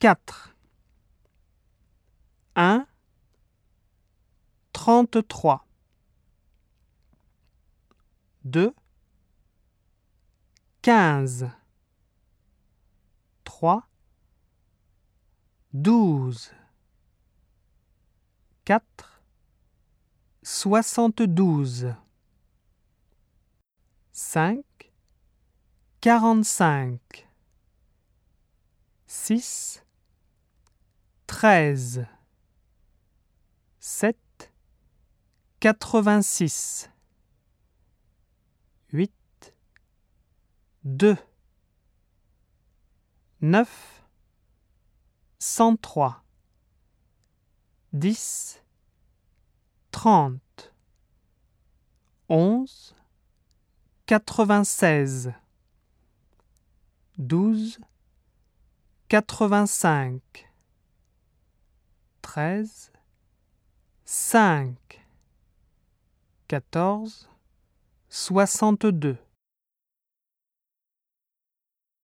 4. 1, 33. 2, 15. 3, 12. 4, 72. 5, 45. 6, 13. 7, 86. 8, 2. 9, 103. 10, 30. 11, 96. 12, 85. 13, 5. 14, 62.